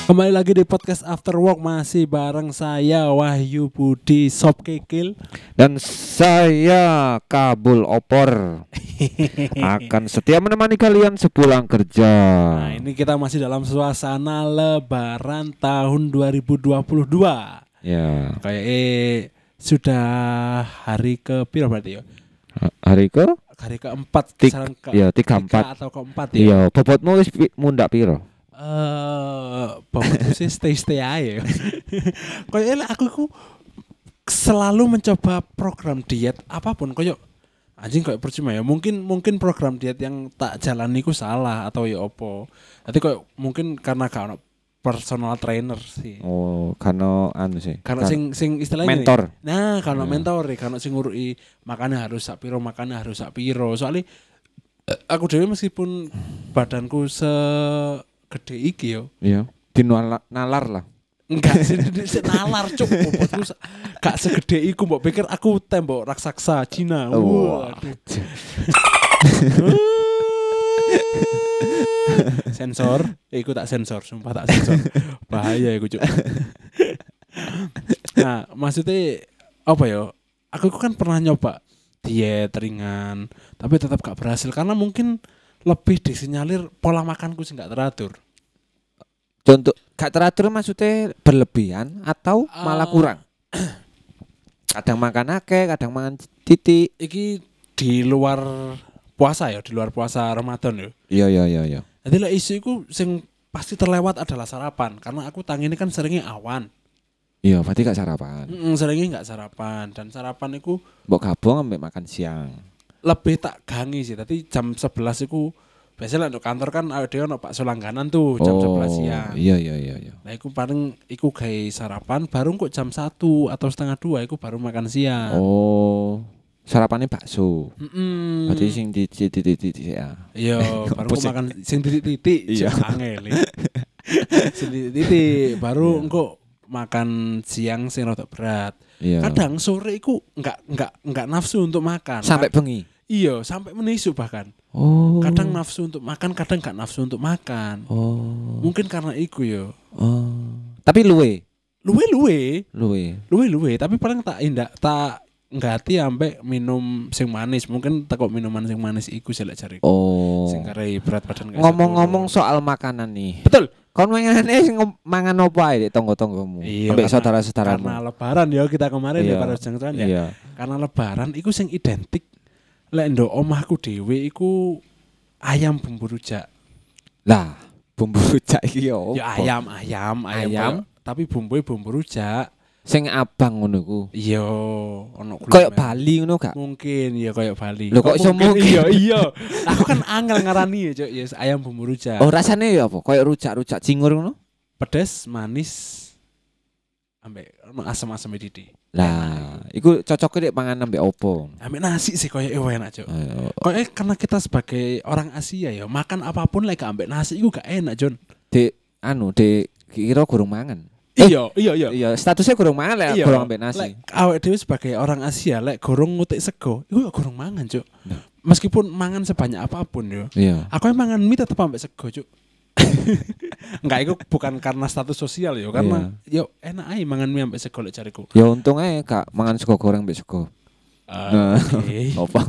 Kembali lagi di podcast After Work masih bareng saya Wahyu Budi Sop Kekil dan saya Kabul Opor akan setia menemani kalian sepulang kerja. Nah, ini kita masih dalam suasana Lebaran tahun 2022. Ya. Kayak sudah hari ke piro berarti ya? Hari ke? Hari keempat, kisaran ya 34 atau keempat ya. Iya, bobotmu wis mundak piro? Bobotku sih stay aja. Kayak aku selalu mencoba program diet apapun kayak anjing kayak percuma ya. Mungkin program diet yang tak jalani ku salah atau ya opo. Tapi kayak mungkin karena gak ono personal trainer sih. Oh, karena anu sih. Karena sing istilahnya mentor. Nih, nah, karena mentor karena sing ngurui makanya harus sak piro, makanya harus sak piro. Soalnya aku dewe meskipun badanku segede iki yo. Iya. Nalar lah. Enggak sih nalar cuk bobotku gak segede iku mbok pikir aku tembok raksasa Cina. Waduh. Sensor, iku tak sensor, sumpah tak sensor. Bahaya iku cuk. Nah, maksudnya apa ya? Aku kan pernah nyoba diet ringan, tapi tetap gak berhasil karena mungkin lebih disinyalir pola makanku sih gak teratur. Contoh gak teratur maksudnya berlebihan atau malah kurang? Kadang makan akeh, kadang makan titik. Iki di luar puasa ya, di luar puasa Ramadan ya. Iya. Jadi lah isu iku sing pasti terlewat adalah sarapan karena aku ini kan seringnya awan. Iya, berarti gak sarapan. Seringnya gak sarapan dan sarapan iku mbok gabung ambek makan siang. Lebih tak gangi sih, tapi jam 11 iku biasanya untuk kantor kan ada ono bakso langganan tuh jam 11 siang. Iya. Nah, iku paling iku gawe sarapan baru kok jam 1 atau setengah 2 iku baru makan siang. Oh. Sarapannya bakso. Berarti sing titik ya. Iya, baru kok makan sing titik iya. Angel. Sing titik baru engko makan siang sing rada berat. Iya. Kadang sore iku enggak nafsu untuk makan. Sampai bengi. Iya, sampai menisu bahkan. Oh. Kadang nafsu untuk makan, kadang gak nafsu untuk makan. Oh. Mungkin karena iku yo. Oh. Tapi luwe, tapi paling tak nggati ambek minum sing manis. Mungkin takut minuman sing manis iku sih lek jariku. Oh. Sing kare berat badan gak. Ngomong-ngomong soal makanan nih. Betul. Kon mangane sing mangan opo ae tonggo-tonggomu? Iya, ambek saudara-saudaramu. Karena lebaran ya kita kemarin iya. ya para jengtuan ya. Iya. Karena lebaran iku sing identik lek ndok omahku dhewe iku ayam bumbu rujak. Lah, bumbu rujak iki yo. Ya ayam. Tapi bumbunya bumbu rujak. Sing abang ngono ku. Iya, ono kayak Bali ngono gak? Mungkin ya kayak Bali. Lho kok iso mungkin? Iya. Aku kan angel ngarani ya, Cuk. Ya ayam bumbu rujak. Oh, rasane ya apa? Kayak rujak-rujak cingur ngono? Pedes, manis, ambek asam-asam didi. Lah, iku cocoknya dek pangan ambek opo? Ambek nasi sih kayak enak, Cuk. Kayak karena kita sebagai orang Asia ya, makan apapun lek ambek nasi iku gak enak, Jon. Dek kira gurung mangan. Iya. Iya, statusnya gorong mangan lek gorong ambek nasi. Lek awake dhewe sebagai orang Asia lek gorong ngutik sego, iku ya gorong mangan, Cuk. Nah. Meskipun mangan sebanyak apapun yo. Iya. Aku mangan mie tetep ambek sego, Cuk. Enggak, itu bukan karena status sosial yo, karena yo enak ae mangan mie ambek sego lek jariku. Ya untung ae gak mangan sego goreng ambek sego. Okay. Apa?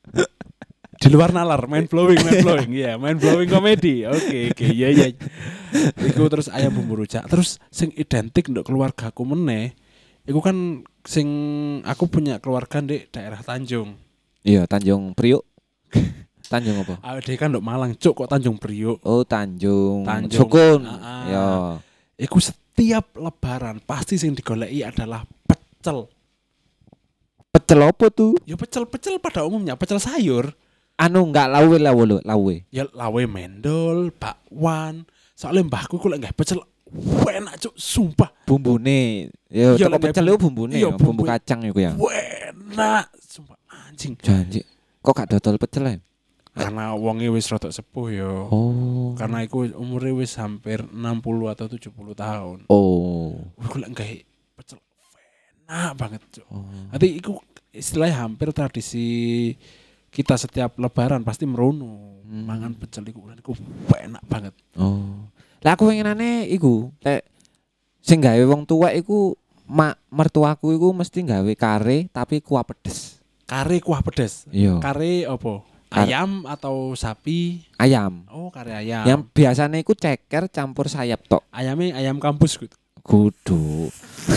Di luar nalar, mind blowing, iya, mind blowing komedi. Oke, iya. Iku terus ayam bumbu rujak, terus sing identik untuk keluargaku meneh. Iku kan sing aku punya keluarga di daerah Tanjung. Iya, Tanjung Priuk. Tanjung apa? Dia kan ndok Malang, Cuk, kok Tanjung Priuk. Oh, Tanjung. Sukun. Ya. Iku setiap lebaran pasti sing digoleki adalah pecel. Pecel apa tuh? Ya pecel pada umumnya, pecel sayur. Anu enggak lawe. Ya lawe mendol, bakwan. Soalnya mbahku kok lek pecel enak, Cuk, sumpah. Bumbune. Ya teko pecel yo bumbune, bumbu kacang iku ya. Enak, sumpah anjing. Janji. Kok gak dodol pecel ya? Karena wonge wis rada sepuh yo. Oh. Karena iku umure wis hampir 60 atau 70 tahun. Oh. Kok lek gawe pecel enak banget, Cuk. Nanti iku istilahnya hampir tradisi kita setiap lebaran pasti merono mangan pecel iku enak banget. Oh. Lah aku pengenane iku, lek sing gawe wong tuwek iku mertuaku iku mesti gawe kare tapi kuah pedes. Kare kuah pedes. Iya. Kare apa? Ayam atau sapi? Ayam. Oh, kare ayam. Yang biasanya iku ceker campur sayap tok. Ayamnya ayam kampus gitu. Kudu.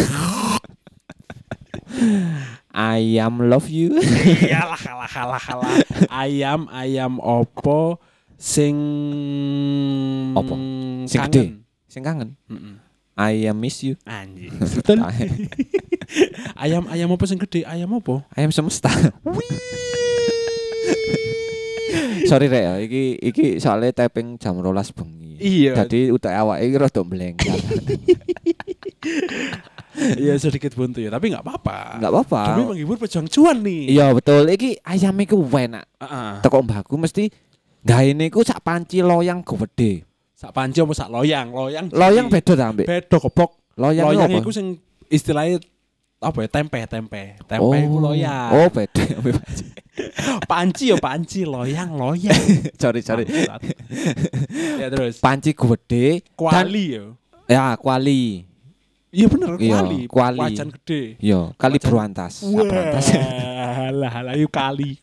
Ayam love you. Iyalah kalah. Ayam opo sing Opo? Sing kangen. gede. Sing kangen. Mm-mm. Ayam miss you. Anjing. Betul. ayam apa sing gede? Ayam apa? Ayam semesta. Sorry rek ya, iki soalnya taping jam 12 bengi. Iya. Jadi utek awake iki rada mlengkar. Iya sedikit buntu ya, tapi enggak apa-apa. Enggak apa-apa. Demi menghibur pejuang cuan nih. Iya betul, iki ayam iku enak. Heeh. Teko mbahku mesti gaene iku sak panci loyang gede. Sak panci apa sak loyang? Loyang beda ta, Mbak? Beda goblok. Loyang Loyang apa? iku sing istilahnya apa ya? Tempe iku loyang. Oh, beda. Panci, loyang. Sorry. Bangsat. Ya terus. Panci gede. Kuali ya. Ya, kuali. Iya bener, Iya, kuali. Wajan gede. Yo, kali Wajan. berantas. Berantas. Halah, yuk kali.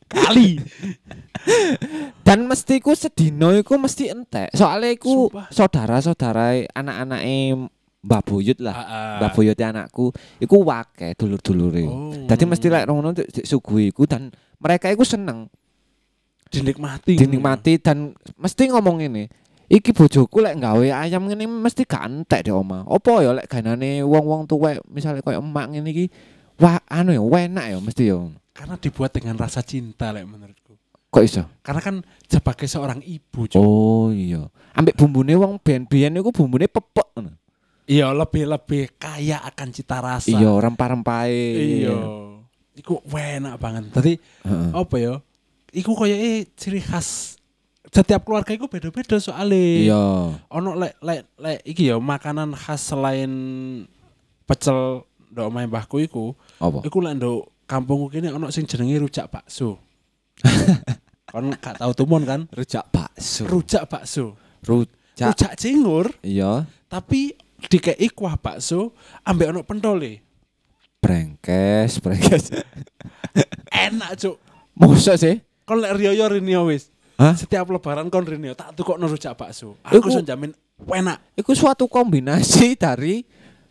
Dan mesti ku sedino iku mesti entek. Soalnya iku Sumpah. saudara-saudara anak-anake Mbah Buyut lah. Mbah Buyut anakku iku wake dulur-dulure. Oh. Dadi mesti lek ngono disuguhi iku dan mereka iku seneng dinikmati dan mesti ngomong ini. Iki bojoku lek gawe ayam ngene mesti gak entek di omah. Apa ya lek ganane wong-wong tuwek misale koyo emak ngene iki wah anu ya enak ya mesti ya. Karena dibuat dengan rasa cinta lek menurutku. Kok iso? Karena kan sebagai seorang ibu, Cuk. Oh iya. Ambek bumbune wong biyen-biyen iku bumbune pepek ngono. Iya, lebih kaya akan cita rasa. Iya, rempah-rempahe. Iya. Iku enak banget. Tadi apa ya? Iku koyo ciri khas setiap keluarga iku beda-beda soalnya. Iya. Ono lek iki ya makanan khas selain pecel ndok omahe mbahku iku. Apa? Iku lek ndok kampungku kene ono sing jenenge rujak bakso. Kon gak tau tumon kan? Rujak bakso. Rujak bakso. Rujak. Rujak cingur Iya. tapi dikei kuah bakso ambek ono pentole. Brengkes. Enak, Cuk. Mosok sih? Kon lek riyo rinio wis. Hah? Setiap lebaran kon rinio tak tukokno rujak bakso. Aku iso jamin enak. Iku suatu kombinasi dari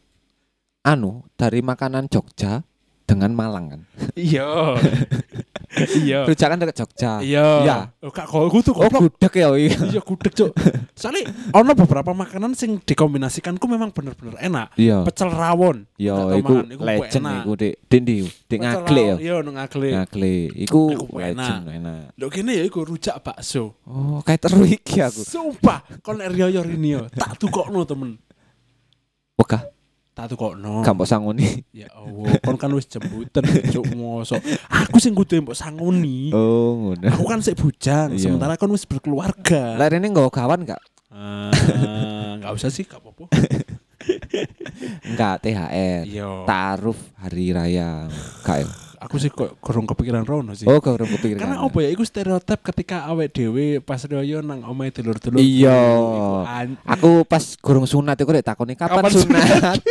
makanan Jogja dengan Malang kan. Iya. Iya. Rujak kan dekat Jogja. Iya. Oh, Kak kudu Oh, goblok. gudeg ya. Iya gudeg, Cuk. Soalnya ono beberapa makanan sing dikombinasikan ku memang bener-bener enak. Iya. Pecel rawon. Iya, Tak tau iku mangan, legend enak. iku di Dendi, di Pecel Ngagle ya. rawon, iya, nang Ngagle. Ngagle. Iku Iku legend enak. Lho kene ya iku rujak bakso. Oh, kayak teru iki aku. Sumpah, kon nek riyo rinio tak tukokno temen. Wegah, Tak tukokno. gak mbok sangoni. Ya Allah, kon kan wis jembutan Cuk mosok. Aku sing kudu mbok sangoni. Oh, ngono. Aku kan sik bujang, Iya. sementara kon wis berkeluarga. Lah rene nggawa gawan gak? Enggak usah sih, gak apa-apa. Enggak THR. Iya. Taruh hari raya. Gak ya? Aku sih kok kurang kepikiran rono sih. Oh, gak urung kepikiran. Karena apa ya, iku stereotip ketika awake dhewe pas riyo nang omahe dulur-dulur. Iya. Iku Aku pas gurung sunat iku rek takoni kapan Kapan sunat?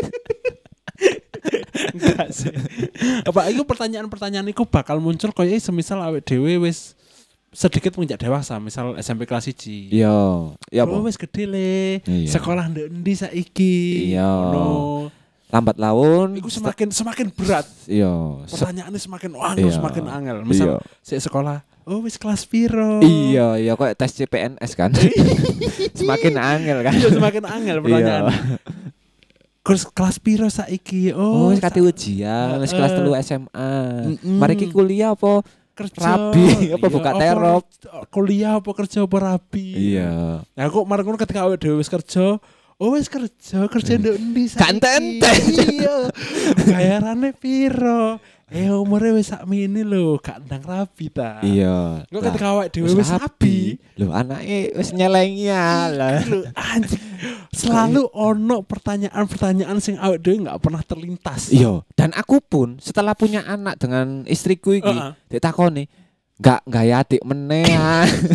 enggak sih. Apa iku pertanyaan-pertanyaan iku bakal muncul koyo semisal awake dhewe wis sedikit menginjak dewasa, misal SMP kelas 1. Iya. Ya Oh, apa? wis gede le. Iya. Sekolah ndek endi saiki? Iya. Ngono. Lambat laun. Iku semakin berat. Iya. Pertanyaannya semakin angel, Iya. semakin angel. Misal sik sekolah, oh wis kelas piro? Iya, kok tes CPNS kan. Semakin angel kan. Iya, semakin angel pertanyaan. Kelas piro saiki? Oh, wis kate ujian, wis kelas 3 SMA. Mari ki kuliah apa kerja rabi, apa iya, buka terop? Kuliah apa kerja apa rabi? Iya. Nah, kok marang ngono ketika awake dhewe wis kerja, oh wis kerja ndek endi saiki? Gak enten-enten. Iya. Bayarane piro? Umure wis sakmene lho, gak ndang rabi ta. Iya. Kok ketika awake dhewe wis rabi, lho anake wis nyelengi lah. lho anjing. Selalu ono pertanyaan-pertanyaan sing awake dhewe enggak pernah terlintas. Iya, dan aku pun setelah punya anak dengan istriku iki, ditakoni, enggak ya adik meneh.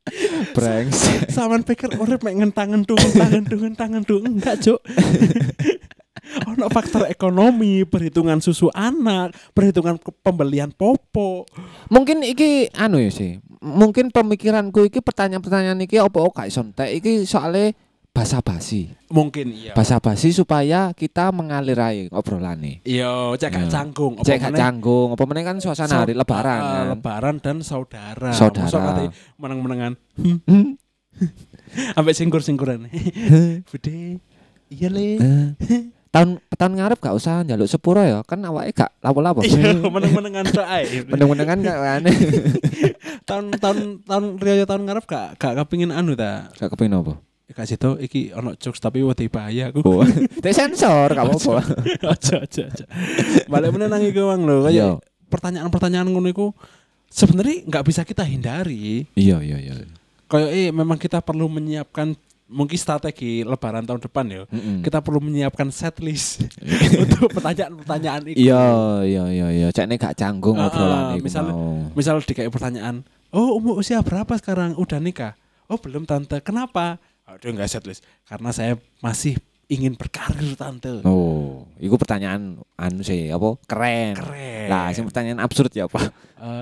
Brengsek. Saman pikir urip mek ngentang-ngentung enggak, Cuk. Ono faktor ekonomi, perhitungan susu anak, perhitungan pembelian popo. Mungkin iki anu ya sih. Mungkin pemikiranku iki pertanyaan-pertanyaan iki opo gak iso entek iki soalnya basa-basi. Mungkin iya. Basa-basi supaya kita mengalir ae obrolane. Iya, cek gak canggung. Cek gak canggung. Apa meneh kan suasana hari lebaran kan. Lebaran dan saudara. Saudara. Masa nanti meneng-menengan. Ambek singkur-singkuran. Bude. Iya le. Tahun ngarep gak usah njaluk sepuro ya. Kan awake gak lapo-lapo. Iya, meneng-menengan tok ae. Meneng-menengan gak kan. Tahun riyo tahun ngarep gak kepengin anu ta. Gak kepengin apa? Kasih tau iki ono jokes tapi wedi bahaya aku. Oh. Teh sensor gak apa-apa. Aja. Balik meneh nang iku wang lho, kaya pertanyaan-pertanyaan ngono iku sebenarnya nggak bisa kita hindari. Iya. Kayak memang kita perlu menyiapkan mungkin strategi lebaran tahun depan ya. Kita perlu menyiapkan set list untuk pertanyaan-pertanyaan itu. Iya. Cekne gak canggung obrolan iku. Misal dikai pertanyaan, "Oh, umur usia berapa sekarang? Udah nikah?" "Oh, belum tante." "Kenapa?" "Aduh, enggak set list. Karena saya masih ingin berkarir tante." Oh, iku pertanyaan anu sih, apa? Keren. Lah, sing pertanyaan absurd ya apa?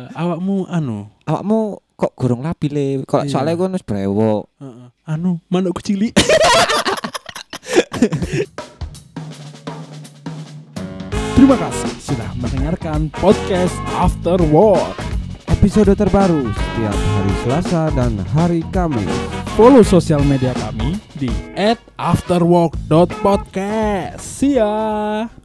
Awakmu kok gorong labi le? Kok soalnya gue wis brewok. Manuk cilik. Terima kasih sudah mendengarkan podcast After Work. Episode terbaru setiap hari Selasa dan hari Kamis. Follow sosial media kami di @afterwork.podcast. See ya.